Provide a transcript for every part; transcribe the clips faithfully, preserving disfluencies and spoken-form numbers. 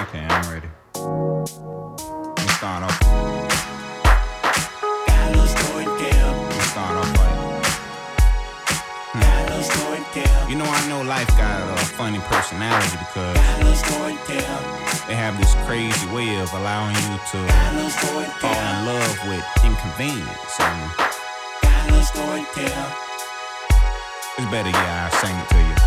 Okay, I'm ready. Let me start off. Got a little story to tell. Let me start off like. Hmm. Got a little story to tell. You know, I know life got a funny personality because Got a little story to tell. they have this crazy way of allowing you to Got a little story to fall tell. in love with inconvenience. And Got a little story to tell. it's better, yeah, I sing it to you.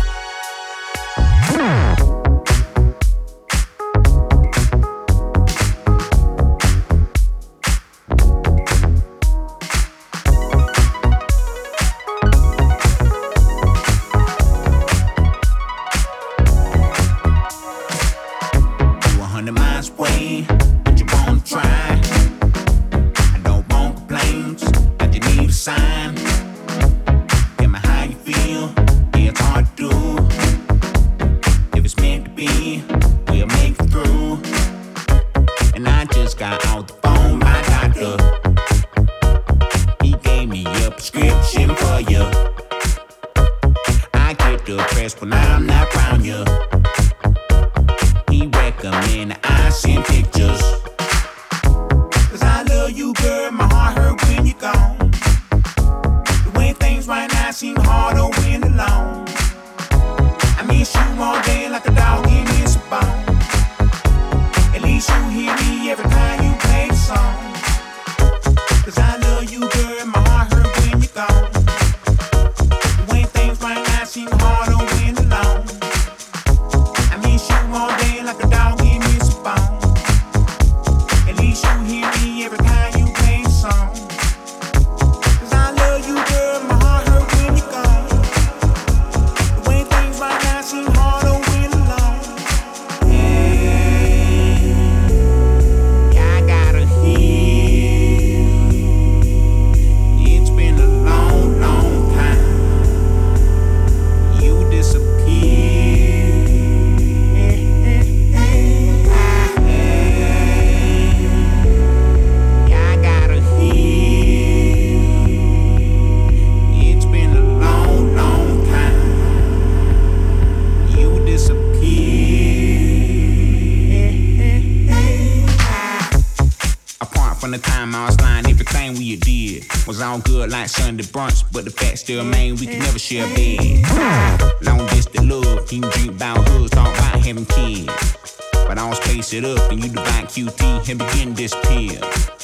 Sunday brunch, but the fact still remain we can never share a bed. Long distance love, you can drink about hoods, talk about having kids. But I don't space it up and you divide Q T and begin this pill.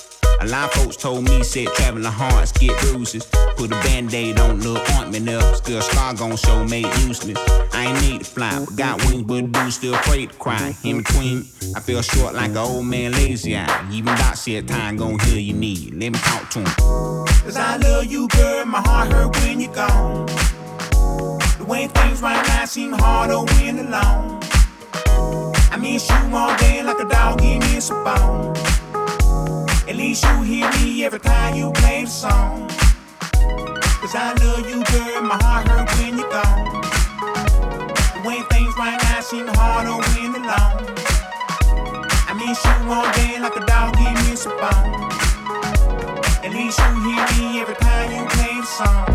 A lot of folks told me, said traveling hearts get bruises. Put a band-aid on, little ointment up. Still scar gon' show made useless. I ain't need to fly, but got wings, but the dude still afraid to cry. In between, I feel short like an old man lazy eye. Even Doc said time gon' heal your need. Let me talk to him. Cause I love you, girl, my heart hurt when you're gone. The way things right now seem harder when alone. I miss you all day like a dog in miss a bone. At least you hear me every time you play the song. Cause I love you, girl, my heart hurt when you're gone. The way things right now seem harder when alone. I miss you all day like a dog in miss a bone. At least you hear me every time you play the song.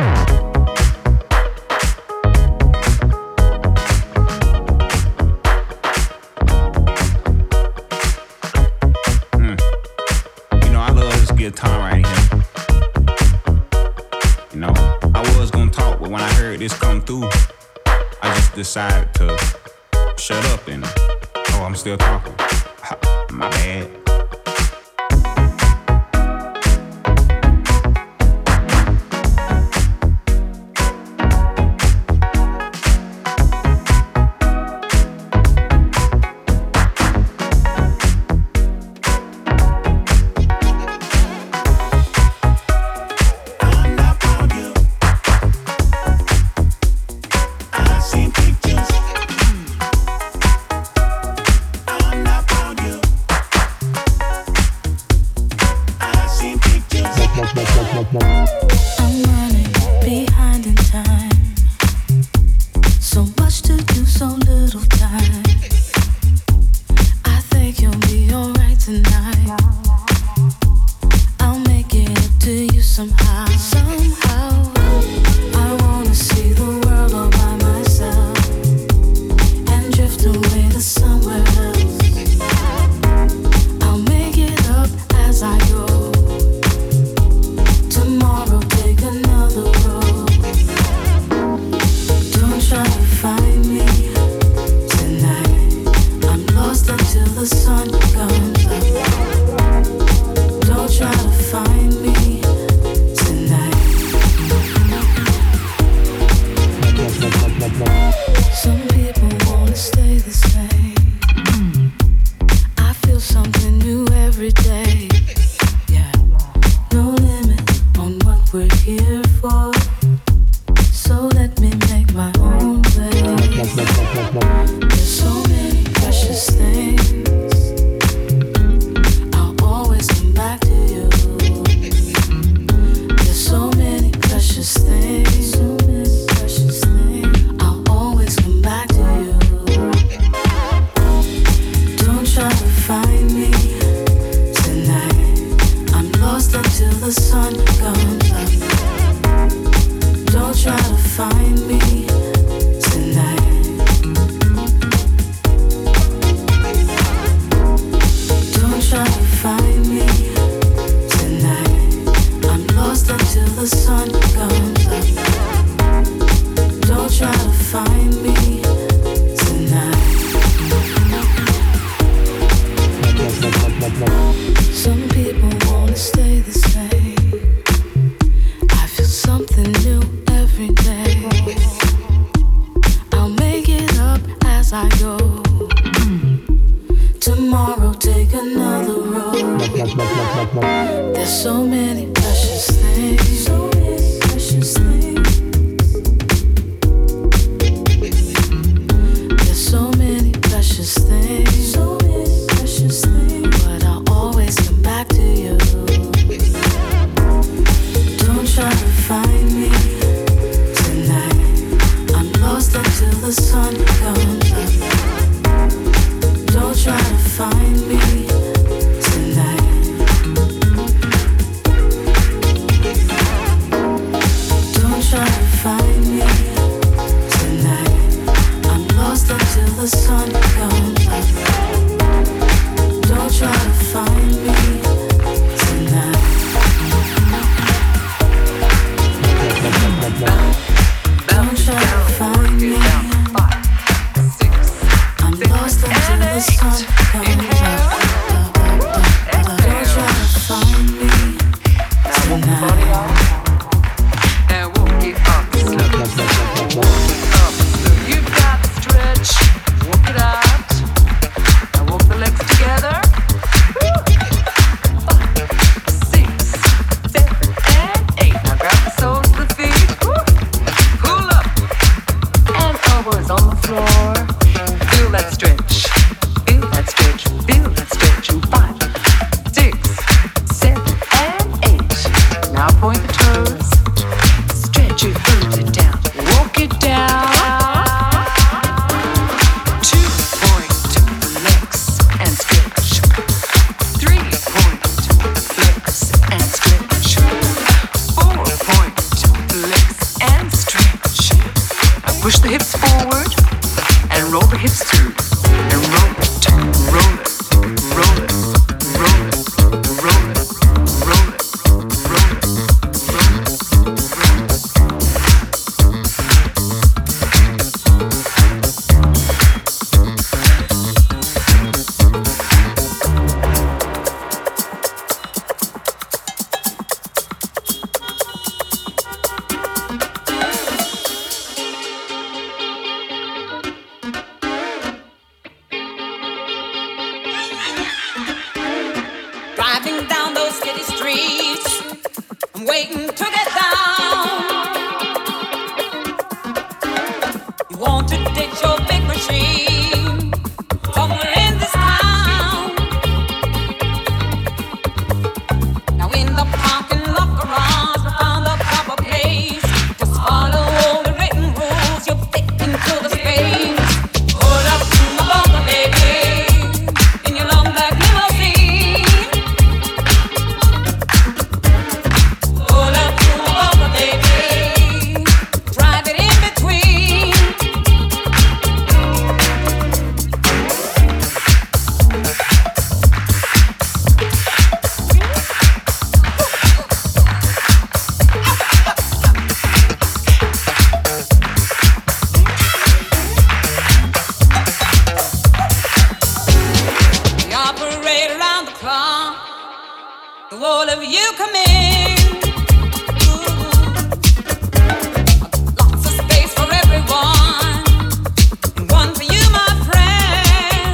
Guitar right here. You know, I was gonna talk, but when I heard this come through, I just decided to shut up and oh, I'm still talking. My bad. I'm not on you. So many precious things, so many precious things. There's so many precious things, so many precious things. But I'll always come back to you. Don't try to find me tonight. I'm lost until the sun comes up. Don't try to find me. The sun comes up. Don't try to find me tonight. Don't try to find me. I'm lost until the sun comes up. Don't try to find me tonight. And walk it up slow. Walk it up slow. You've got to stretch. Walk it out. Now walk the legs together. Five, six, seven, and eight. Now grab the soles of the feet. Pull up. And elbows on the floor. Feel that stretch. Feel that stretch. Feel that stretch. Five, six, seven, and eight. Now point the toes. Stretch your foot it down. Walk it down. Push the hips forward and roll the hips through. And roll it, roll it, roll it, roll it, roll it, roll it, roll it, Driving down those city streets, I'm waiting to get down. You want to ditch your big machine somewhere in this town. Now in the parking lot garage, we found the proper place. Just follow all the written rules, you'll fit into the space. Hold up to my bumper, baby, in your long black limousine. Hold up to my bumper, baby, drive it in between. We operate around the clock. The all of you come in. Ooh. Lots of space for everyone, and one for you, my friend.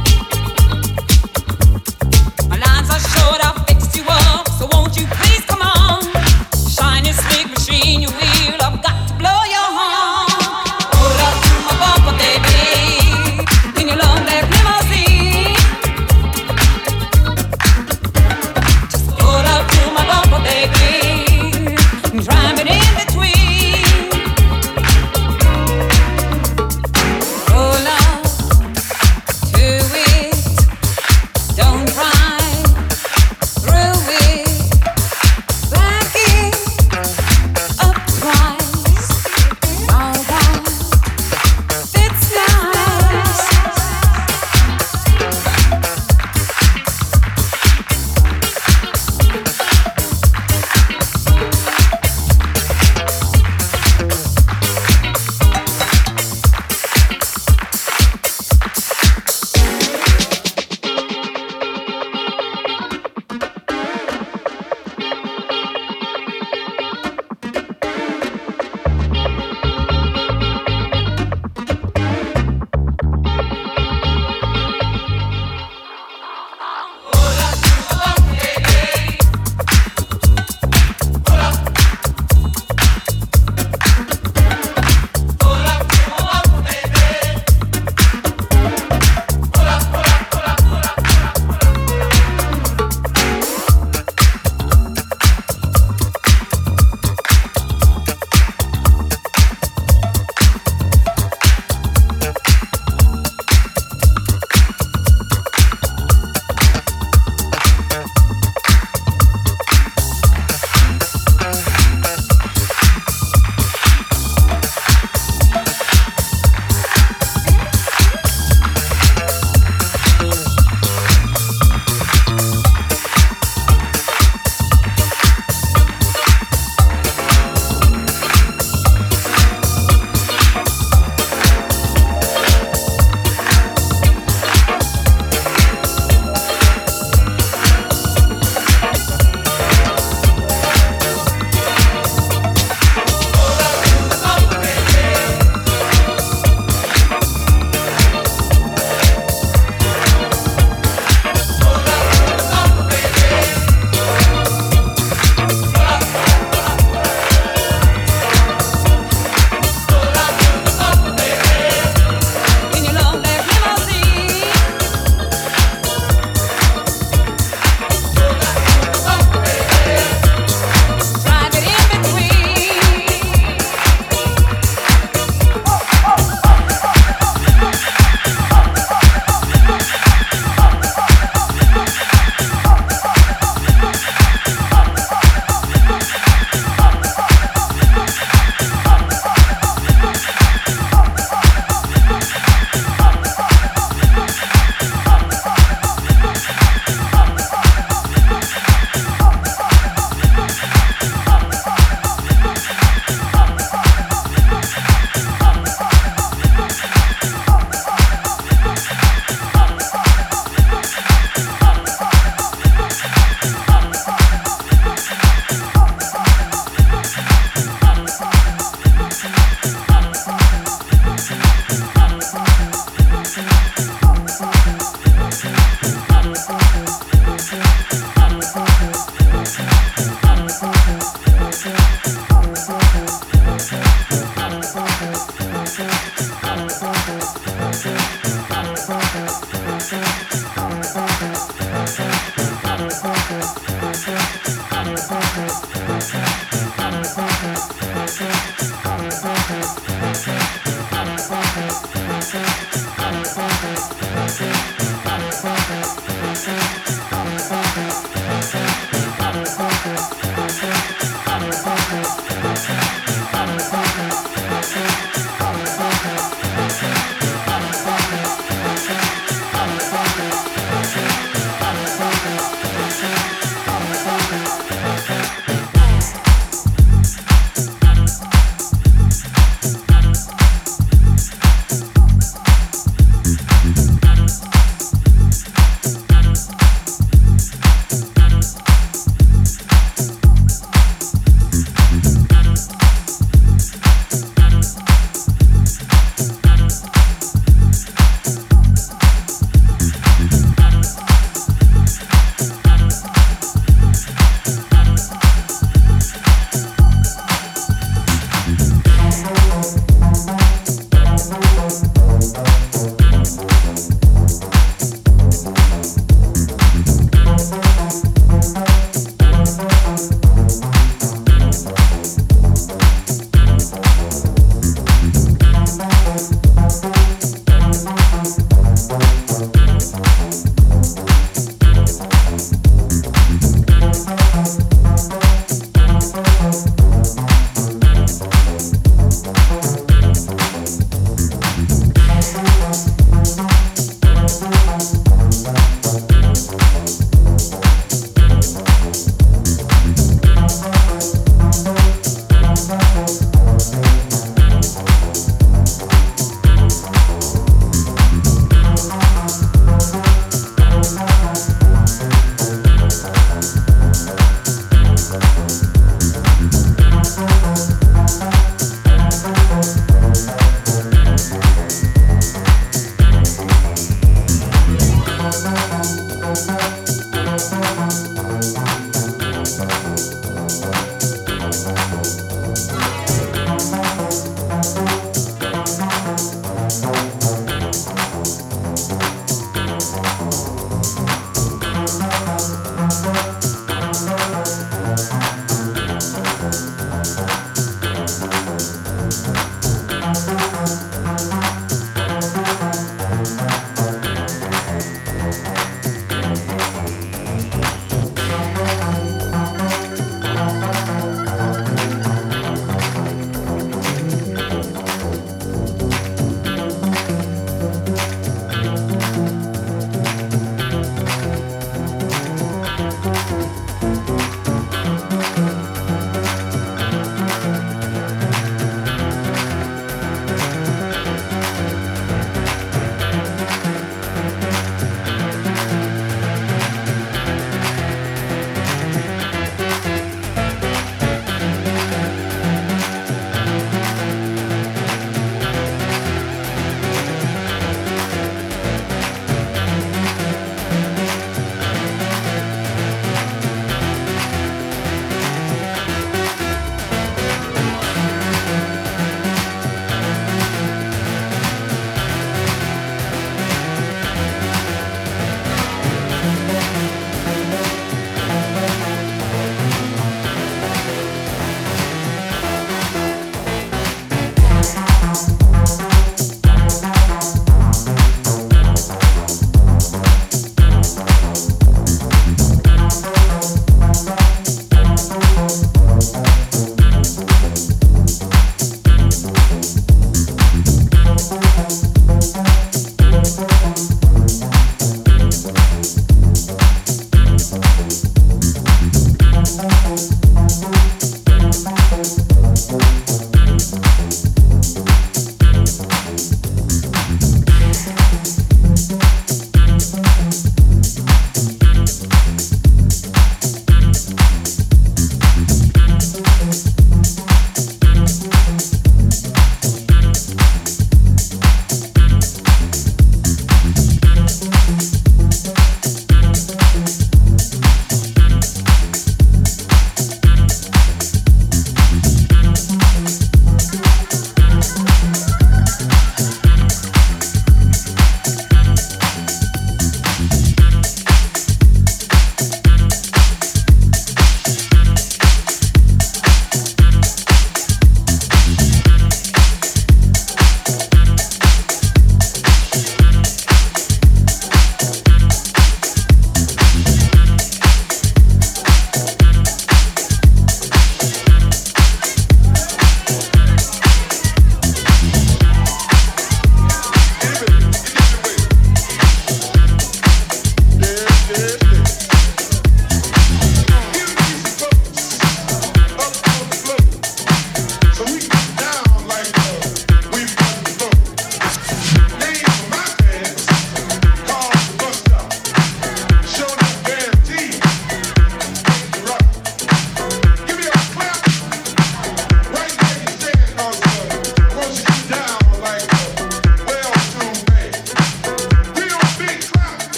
My lines are short, I'll fix you up, so won't you please come on? Shiny, sleek machine, you wheel, I've got to blow your horn. Hold up to my bumper, baby, in your long black limousine. Just hold up to my bumper, baby.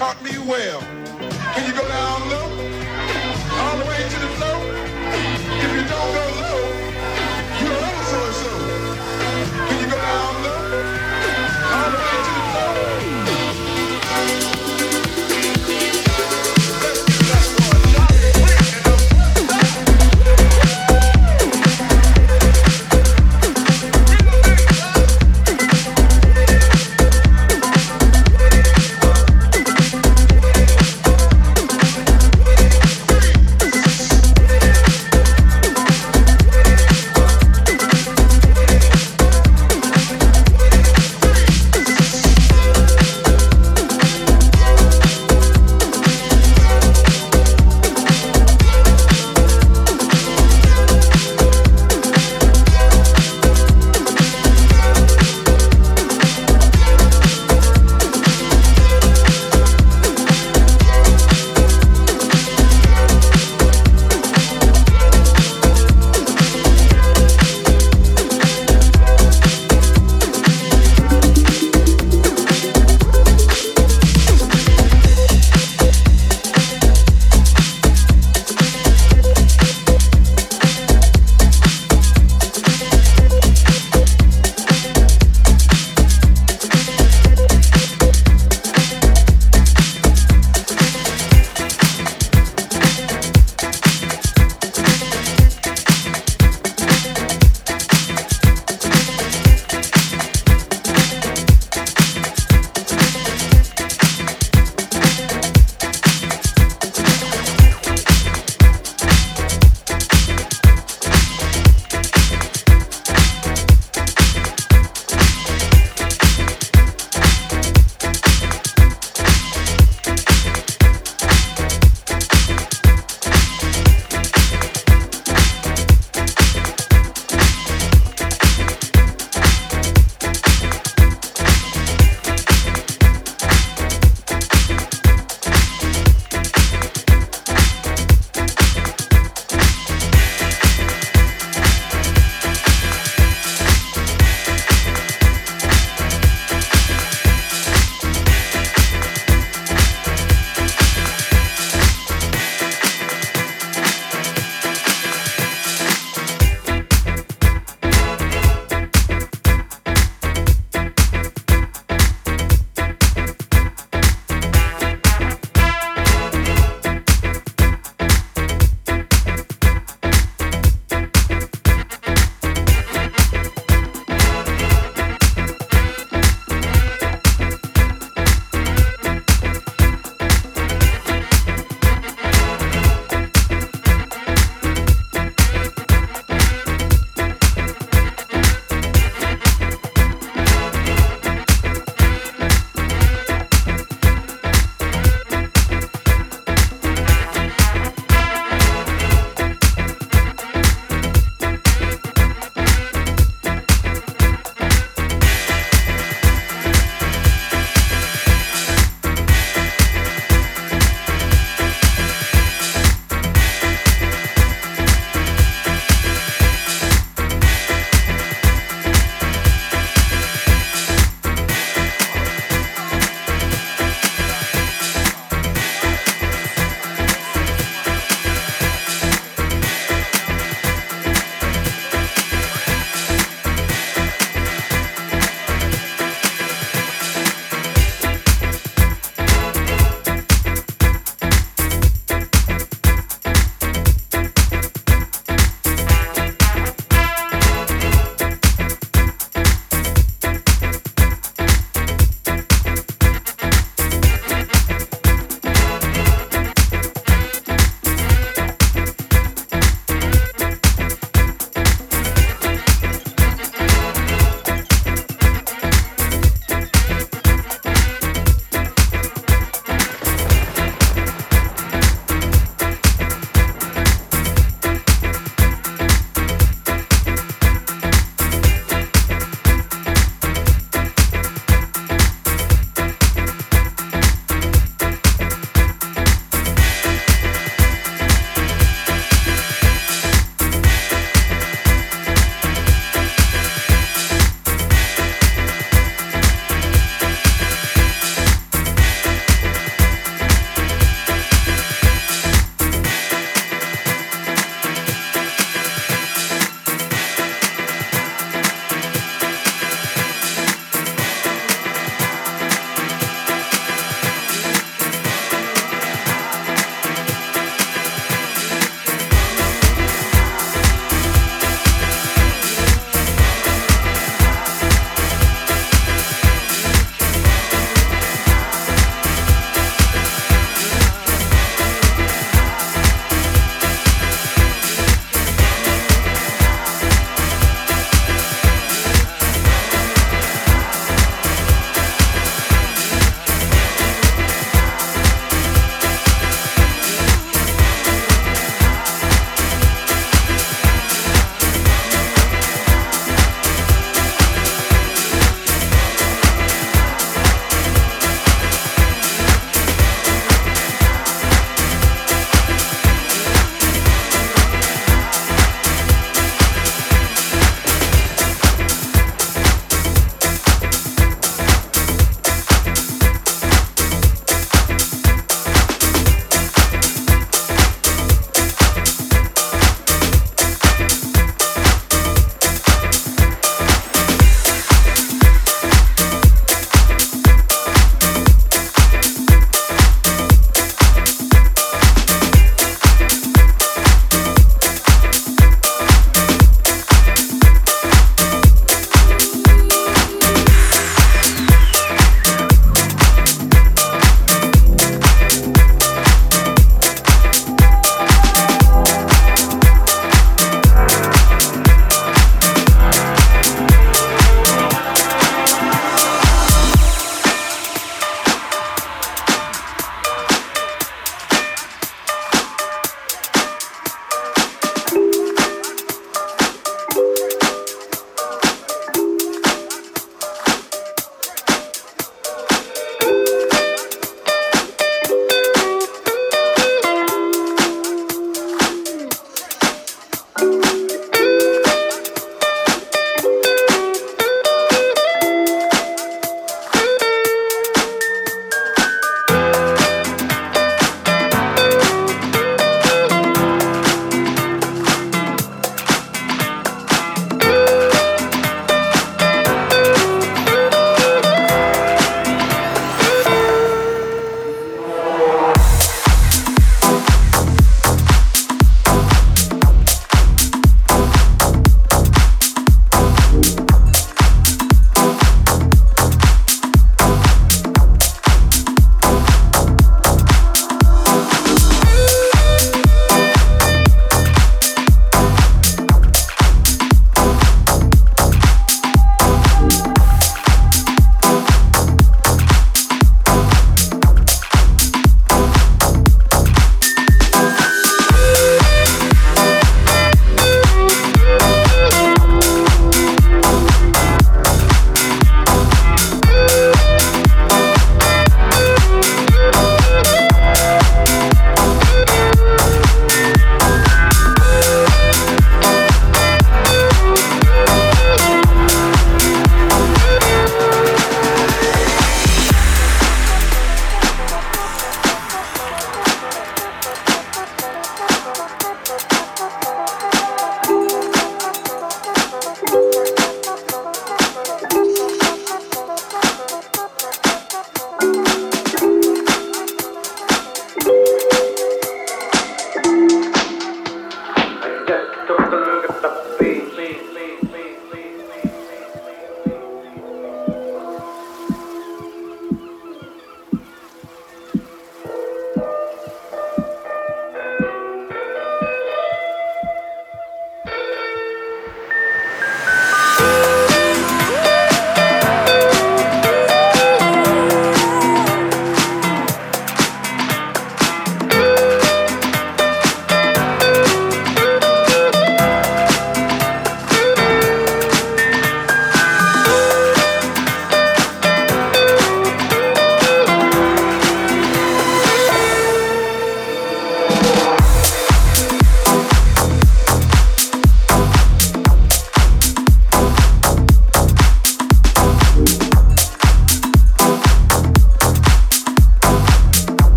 taught me well. Can you go down low? All the way to the floor? If you don't go low, you're ever so and so. Can you go down low? All the way to the floor? Let's give that boy a shot.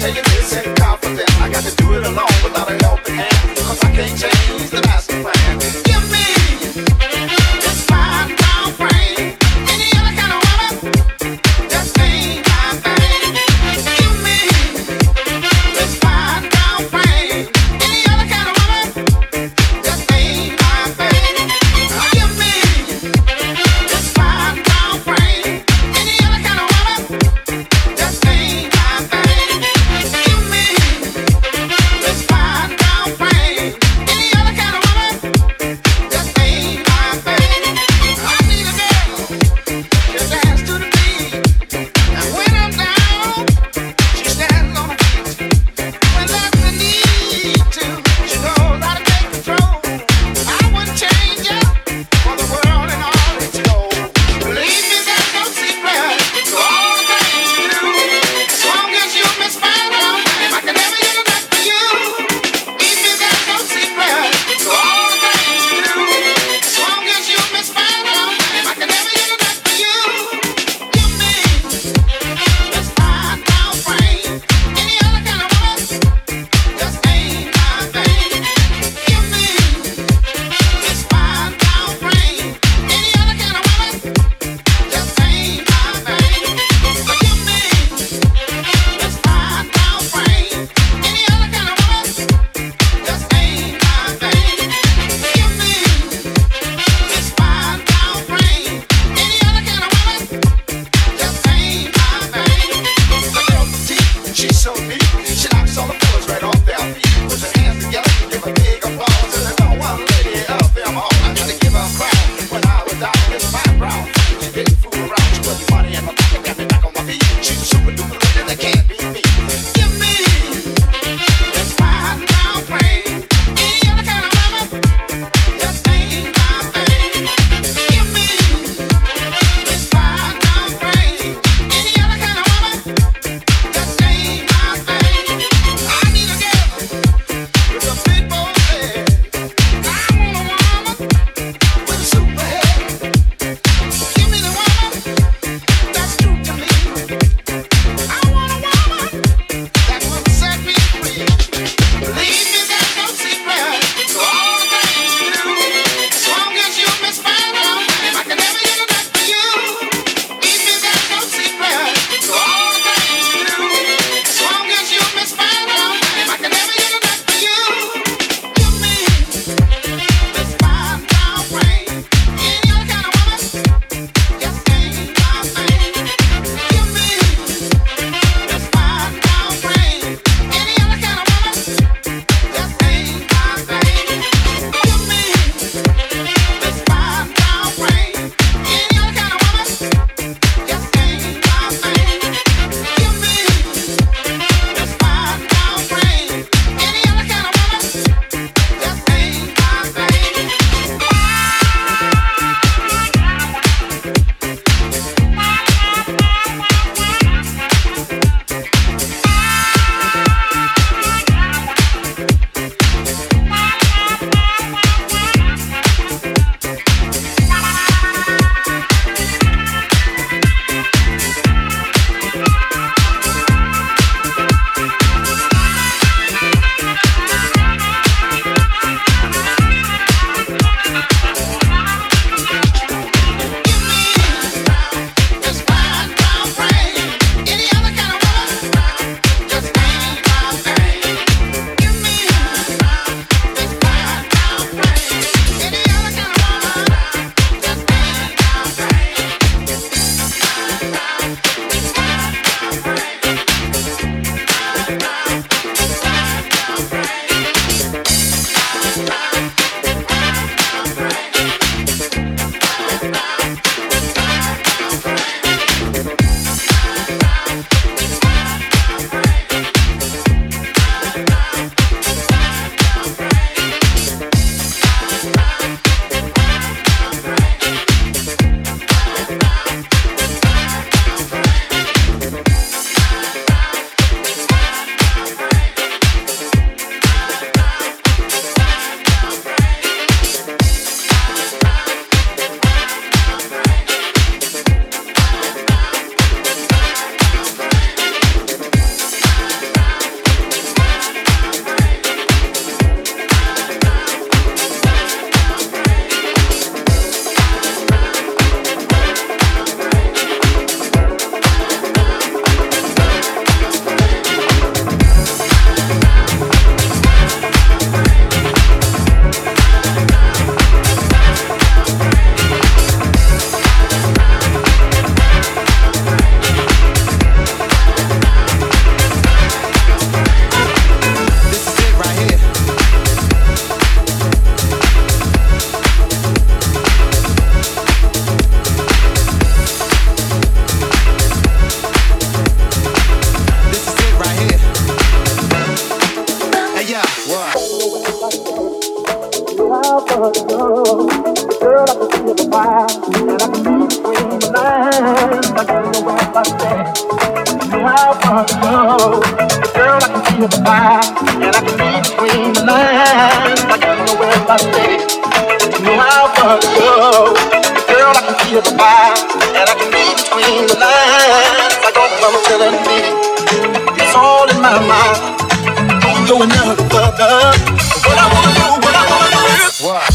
my thing. Girl, I can feel the fire, and I can read between the lines. Like you know where I stay, you know how far to go. Girl, I can feel the fire, and I can read between the lines. Like all mama telling me, it's all in my mind. Don't go another further. What I wanna do, what I wanna do is what?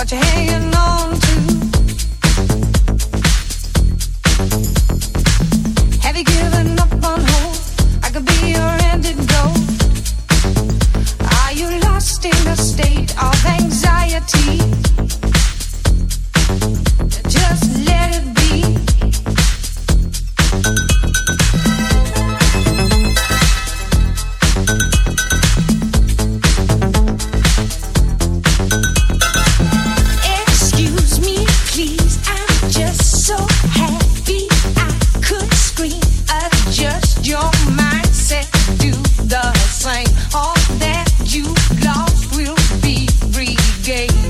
what you're hanging on to. Have you given up on hope? I could be your antidote. Are you lost in a state of anxiety? Just let it be. Excuse me, please, I'm just so happy I could scream. Adjust your mindset, do the same. All that you lost will be regained.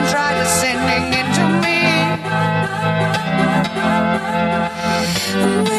Away.